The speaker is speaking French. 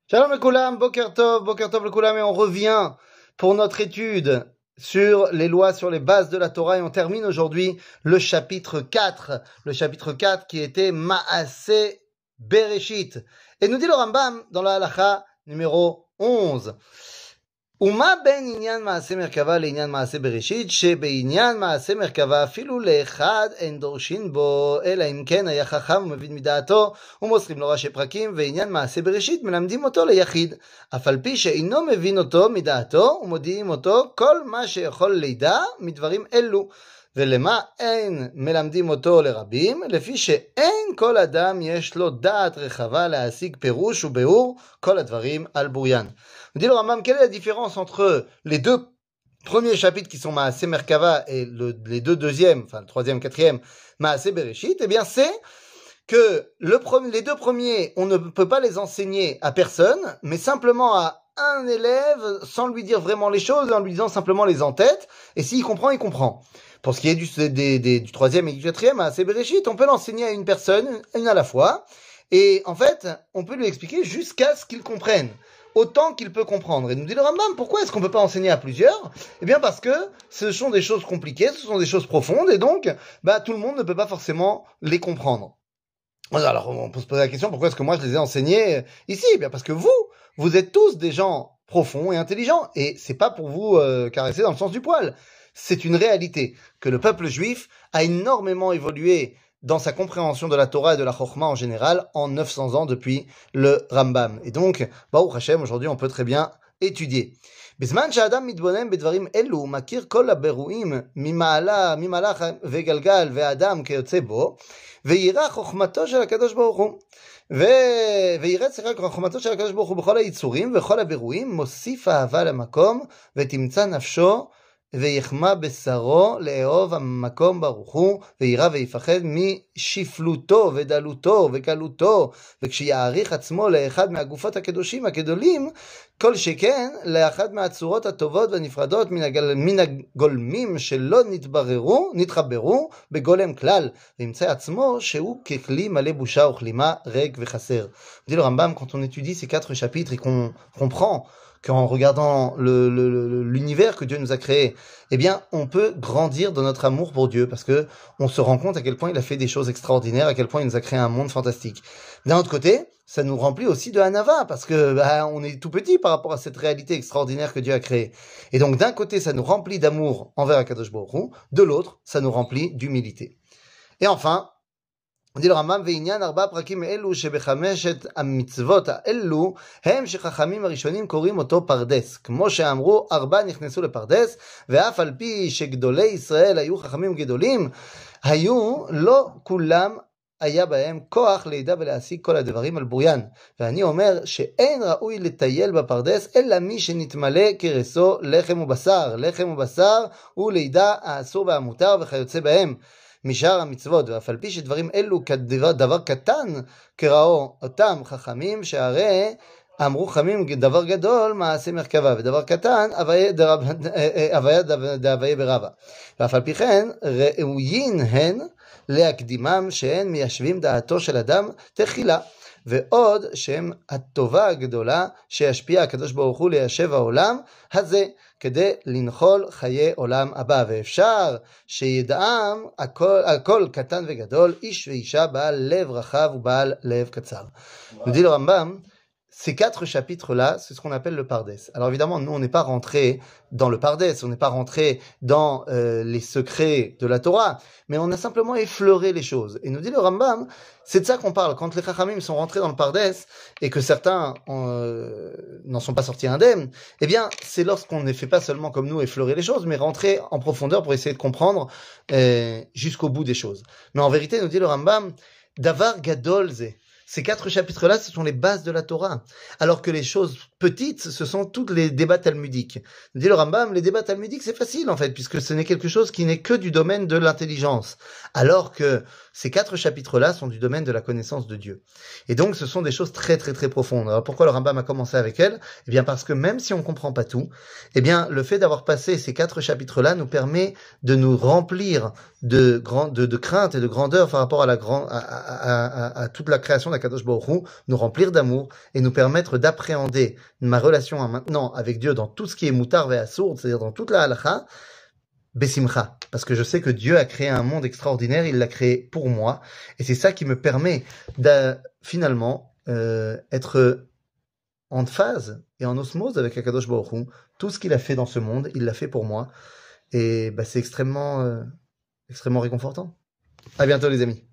Shalom Lekoulam, Boker Tov Lekoulam, et on revient pour notre étude sur les lois, sur les bases de la Torah, et on termine aujourd'hui le chapitre 4 qui était Maaseh Bereshit. Et nous dit le Rambam dans la halakha numéro 11. ומה בין עניין מעשה מרכבה לעניין מעשה בראשית, שבעניין מעשה מרכבה אפילו לאחד אין דורשין בו, אלא אם כן היה חכם ומבין מדעתו, ומוסרים לו ראשי פרקים, ועניין מעשה בראשית מלמדים אותו ליחיד, אף על פי שאינו מבין אותו מדעתו, ומודיעים אותו כל מה שיכול לידע מדברים אלו. ולמה אין מלמדים אותו לרבים? לפי שאין כל אדם יש לו דעת רחבה להשיג פירוש וביאור כל הדברים על בוריין. On dit le Rambam, quelle est la différence entre les deux premiers chapitres qui sont Maaseh Merkava et les deux deuxièmes, enfin le troisième, quatrième, Maaseh Bereshit? Eh bien, c'est que les deux premiers, on ne peut pas les enseigner à personne, mais simplement à un élève, sans lui dire vraiment les choses, en lui disant simplement les en-tête, et s'il comprend, il comprend. Pour ce qui est du troisième et du quatrième, Maaseh Bereshit, on peut l'enseigner à une personne, une à la fois, et en fait, on peut lui expliquer jusqu'à ce qu'il comprenne, autant qu'il peut comprendre. Et nous dit le Rambam, pourquoi est-ce qu'on ne peut pas enseigner à plusieurs? Eh bien parce que ce sont des choses compliquées, ce sont des choses profondes, et donc tout le monde ne peut pas forcément les comprendre. Alors on peut se poser la question, pourquoi est-ce que moi je les ai enseignés ici? Eh bien parce que vous êtes tous des gens profonds et intelligents, et c'est pas pour vous caresser dans le sens du poil. C'est une réalité que le peuple juif a énormément évolué dans sa compréhension de la Torah et de la Chokhmah en général en 900 ans depuis le Rambam. Et donc, Baruch Hashem, aujourd'hui, on peut très bien étudier. בזמן שאדם מתבונן בדברים אלו, מכיר כל הבירואים ממהלך וגלגל ואדם כיוצא בו, ויראה חוכמתו של הקדוש ברוך הוא. ויראה חוכמתו של הקדוש ברוך הוא בכל היצורים וכל הבירואים, מוסיף אהבה למקום, ותמצא נפשו ויחמה בשרו לאהוב המקום ברוך הוא, וירא ויפחד משפלותו ודלותו וקלותו, וכשיעריך עצמו לאחד מהגופות הקדושים הגדולים, כל שכן לאחד מהצורות הטובות והנפרדות מן הגולמים שלא נתחברו בגולם כלל, וימצא עצמו שהוא ככלי מלא בושה וכלימה ריק וחסר. dit le Rambam, quand on étudie ces 4 chapitres et qu'on comprend qu'en regardant l'univers que Dieu nous a créé, eh bien, on peut grandir dans notre amour pour Dieu, parce que on se rend compte à quel point il a fait des choses extraordinaires, à quel point il nous a créé un monde fantastique. D'un autre côté, ça nous remplit aussi de hanava, parce que on est tout petit par rapport à cette réalité extraordinaire que Dieu a créée. Et donc, d'un côté, ça nous remplit d'amour envers Akadosh Baruch Hu, de l'autre, ça nous remplit d'humilité. Et enfin, on dit le Rambam, ועניין 4 פרקים אלו שבחמשת המצוות האלו הם שחכמים הראשונים קוראים אותו פרדס, כמו שאמרו 4 נכנסו לפרדס, ואף על פי שגדולי ישראל היו חכמים גדולים, היו לא כולם היה בהם כוח לידע ולהשיג כל הדברים על בוריין. ואני אומר שאין ראוי לטייל בפרדס אלא מי שנתמלא כרסו לחם ובשר ולידע האסור והמותר וכיוצא בהם משאר המצוות, ואף על פי שדברים אלו כדבר קטן קראו אותם חכמים, שהרי אמרו חכמים דבר גדול מעשה מרכבה, ודבר קטן הוויה דהוויה ברבה. ואף על פי כן ראויין הן להקדימם שהן מיישבים דעתו של אדם תחילה, ועוד שהם הטובה הגדולה שישפיע הקדוש ברוך הוא ליישב העולם הזה, כדי לנחול חיי עולם הבא. ואפשר שידעם הכל קטן וגדול, איש ואישה בעל לב רחב ובעל lève קצר. nous dit le Rambam, ces 4 chapitres-là, c'est ce qu'on appelle le Pardes. Alors évidemment, nous, on n'est pas rentré dans le Pardes, on n'est pas rentré dans les secrets de la Torah, mais on a simplement effleuré les choses. Et nous dit le Rambam, c'est de ça qu'on parle. Quand les Chachamim sont rentrés dans le Pardes, et que certains n'en sont pas sortis indemnes, eh bien, c'est lorsqu'on ne fait pas seulement comme nous effleurer les choses, mais rentrer en profondeur pour essayer de comprendre jusqu'au bout des choses. Mais en vérité, nous dit le Rambam, Davar Gadol Ze. Ces 4 chapitres-là, ce sont les bases de la Torah. Alors que les choses petites, ce sont tous les débats talmudiques. Dit le Rambam, les débats talmudiques, c'est facile en fait, puisque ce n'est quelque chose qui n'est que du domaine de l'intelligence. Alors que ces 4 chapitres-là sont du domaine de la connaissance de Dieu. Et donc, ce sont des choses très très très profondes. Alors pourquoi le Rambam a commencé avec elles? Eh bien parce que même si on ne comprend pas tout, eh bien le fait d'avoir passé ces 4 chapitres-là nous permet de nous remplir de crainte et de grandeur par rapport à toute la création Kadosh Baruch Hu nous remplir d'amour et nous permettre d'appréhender ma relation maintenant avec Dieu dans tout ce qui est moutar ve assour, c'est-à-dire dans toute la halakha, besimcha. Parce que je sais que Dieu a créé un monde extraordinaire, il l'a créé pour moi. Et c'est ça qui me permet de finalement être en phase et en osmose avec Akadosh Baruch Hu. Tout ce qu'il a fait dans ce monde, il l'a fait pour moi. Et c'est extrêmement réconfortant. À bientôt les amis.